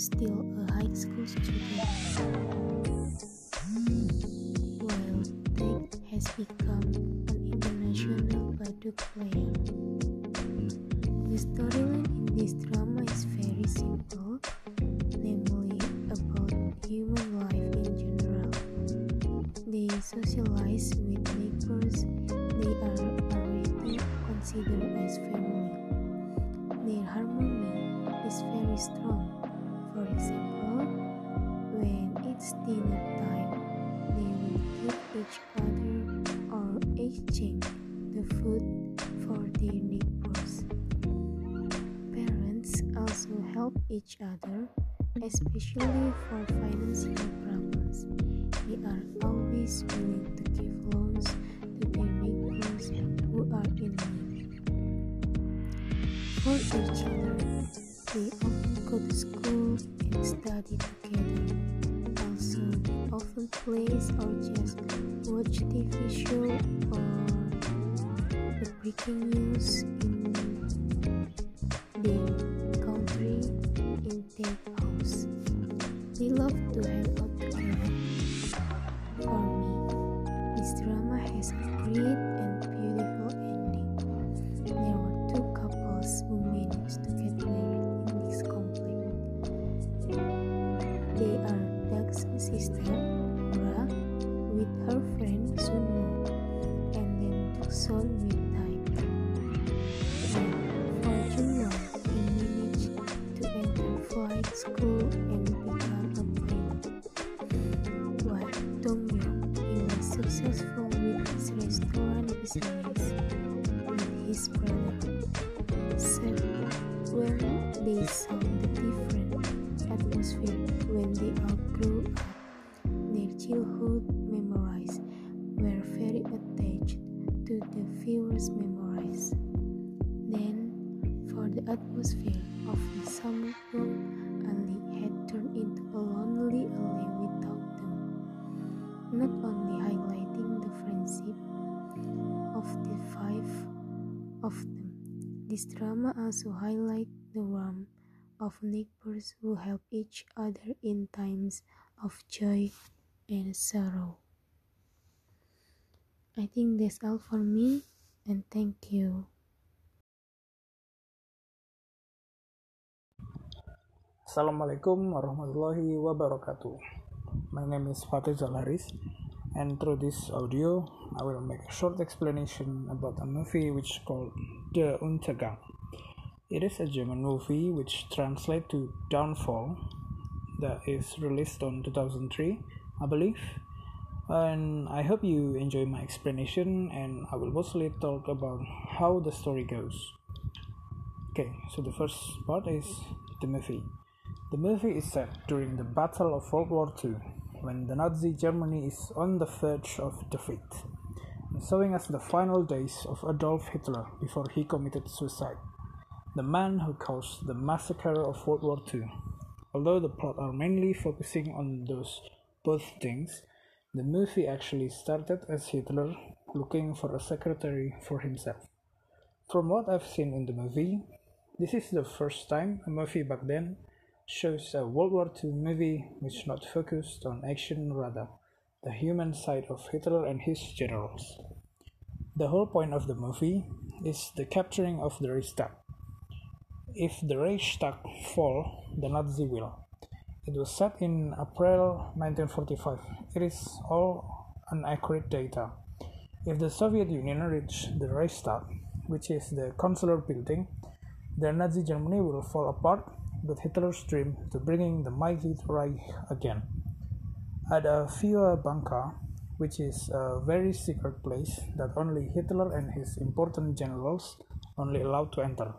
still a high school student, while Tate has become an international baduk player. The storyline in this drama is very simple, namely about human life in general. They socialize with neighbors they are already considered as family. Their harmony is very strong. For example, when it's dinner time, they will give each other or exchange the food for their neighbors. Parents also help each other, especially for financial problems. They are always willing to give loans to their neighbors who are in need. For their children, they often go to school and study together. Also, they often play or just watch TV show or the breaking news in their country in their house. They love to hang out together. For me, this drama has a great and beautiful ending. There were two couples who managed to get married in this conflict. They are Doug's sister, Nora, with her friend Sunwoo, and then Tukson with Taek. And for Junwon, he managed to enter flight school and become a pilot. While Dongryuk, he was successful with his restaurant business with his brother. So, when they saw the different atmosphere when they all grew up, their childhood memories were very attached to the viewer's memories. Then, for the atmosphere of the summer room, Ali had turned into a lonely alley without them, not only highlighting the friendship of the five of them. This drama also highlights the warmth of neighbors who help each other in times of joy and sorrow. I think that's all for me, and thank you. Assalamualaikum warahmatullahi wabarakatuh. My name is Fatih Zalaris, and through this audio, I will make a short explanation about a movie which is called Der Untergang. It is a German movie which translates to Downfall, that is released on 2003, I believe. And I hope you enjoy my explanation, and I will mostly talk about how the story goes. Okay, so the first part is the movie. The movie is set during the Battle of World War II, when the Nazi Germany is on the verge of defeat, showing us the final days of Adolf Hitler before he committed suicide, the man who caused the massacre of World War II. Although the plot are mainly focusing on those both things, the movie actually started as Hitler looking for a secretary for himself. From what I've seen in the movie, this is the first time a movie back then shows a World War II movie which not focused on action, rather the human side of Hitler and his generals. The whole point of the movie is the capturing of the Reichstag. If the Reichstag fall, the Nazi will. It was set in April 1945. It is all inaccurate data. If the Soviet Union reached the Reichstag, which is the consular building, the Nazi Germany will fall apart with Hitler's dream to bringing the mighty Reich again. At a Führerbunker, which is a very secret place that only Hitler and his important generals only allowed to enter.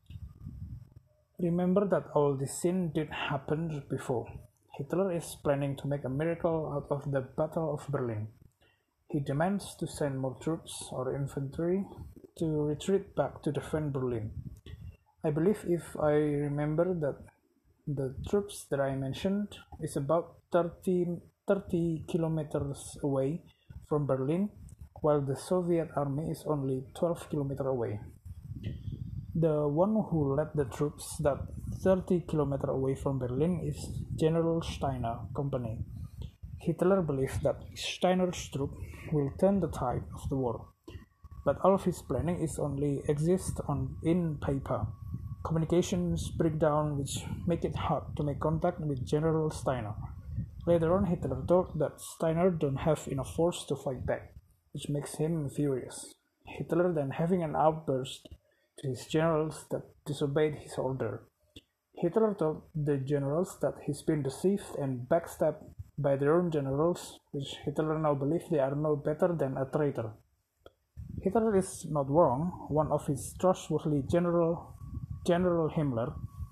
Remember that all this scene did happen before. Hitler is planning to make a miracle out of the Battle of Berlin. He demands to send more troops or infantry to retreat back to defend Berlin. I believe, if I remember, that the troops that I mentioned is about 30 kilometers away from Berlin, while the Soviet army is only 12 kilometers away. The one who led the troops that 30 kilometers away from Berlin is General Steiner Company. Hitler believed that Steiner's troops will turn the tide of the war, but all of his planning is only exists in paper. Communications break down, which make it hard to make contact with General Steiner. Later on, Hitler thought that Steiner don't have enough force to fight back, which makes him furious. Hitler then having an outburst to his generals that disobeyed his order. Hitler told the generals that he's been deceived and backstabbed by their own generals, which Hitler now believes they are no better than a traitor. Hitler is not wrong. One of his trustworthy General Himmler,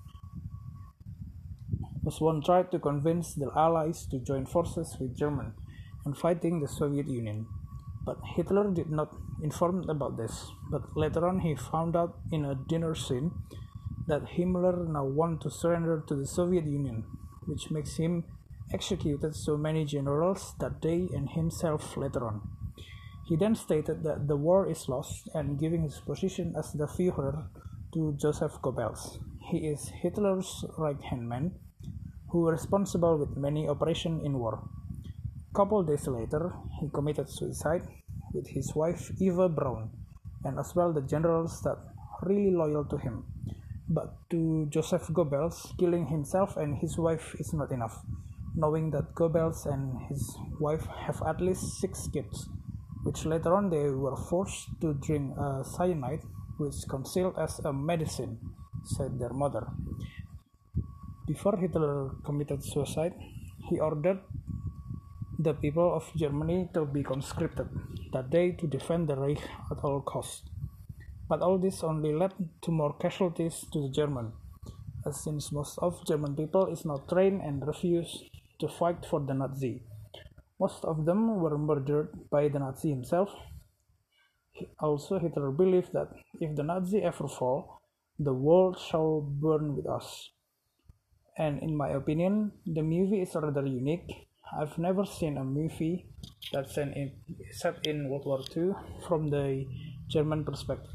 was one tried to convince the Allies to join forces with Germany and fighting the Soviet Union. But Hitler did not inform about this. But later on he found out in a dinner scene that Himmler now wanted to surrender to the Soviet Union, which makes him executed so many generals that day and himself later on. He then stated that the war is lost and giving his position as the Führer to Joseph Goebbels. He is Hitler's right-hand man, who was responsible with many operations in war. Couple days later, he committed suicide with his wife Eva Braun, and as well the generals that really loyal to him. But to Joseph Goebbels, killing himself and his wife is not enough, knowing that Goebbels and his wife have at least 6 kids, which later on they were forced to drink cyanide, which concealed as a medicine, said their mother. Before Hitler committed suicide, he ordered the people of Germany to be conscripted that day to defend the Reich at all costs. But all this only led to more casualties to the German, as since most of German people is not trained and refuse to fight for the Nazi. Most of them were murdered by the Nazi himself. Also, Hitler believed that if the Nazi ever fall, the world shall burn with us. And in my opinion, the movie is rather unique. I've never seen a movie that's set in World War II from the German perspective.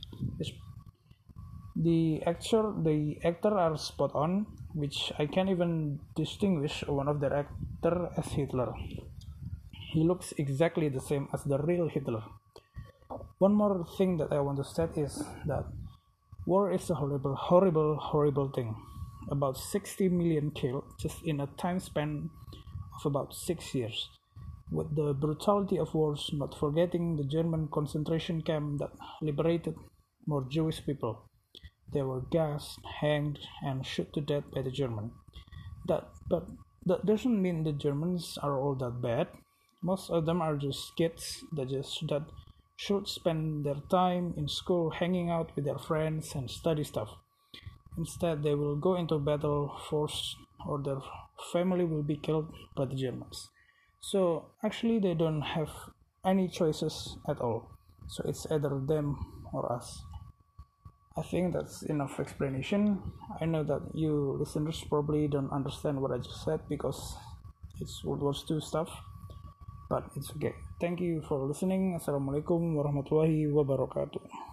The actor are spot on, which I can't even distinguish one of their actor as Hitler. He looks exactly the same as the real Hitler. One more thing that I want to state is that war is a horrible thing. About 60 million killed just in a time span of about 6 years. With the brutality of wars, not forgetting the German concentration camp that liberated more Jewish people. They were gassed, hanged, and shot to death by the German. But that doesn't mean the Germans are all that bad. Most of them are just kids that should spend their time in school hanging out with their friends and study stuff. Instead, they will go into battle force or their family will be killed by the Germans. So actually they don't have any choices at all. So it's either them or us. I think that's enough explanation. I know that you listeners probably don't understand what I just said because it's World War II stuff, but it's okay. Thank you for listening. Assalamualaikum warahmatullahi wabarakatuh.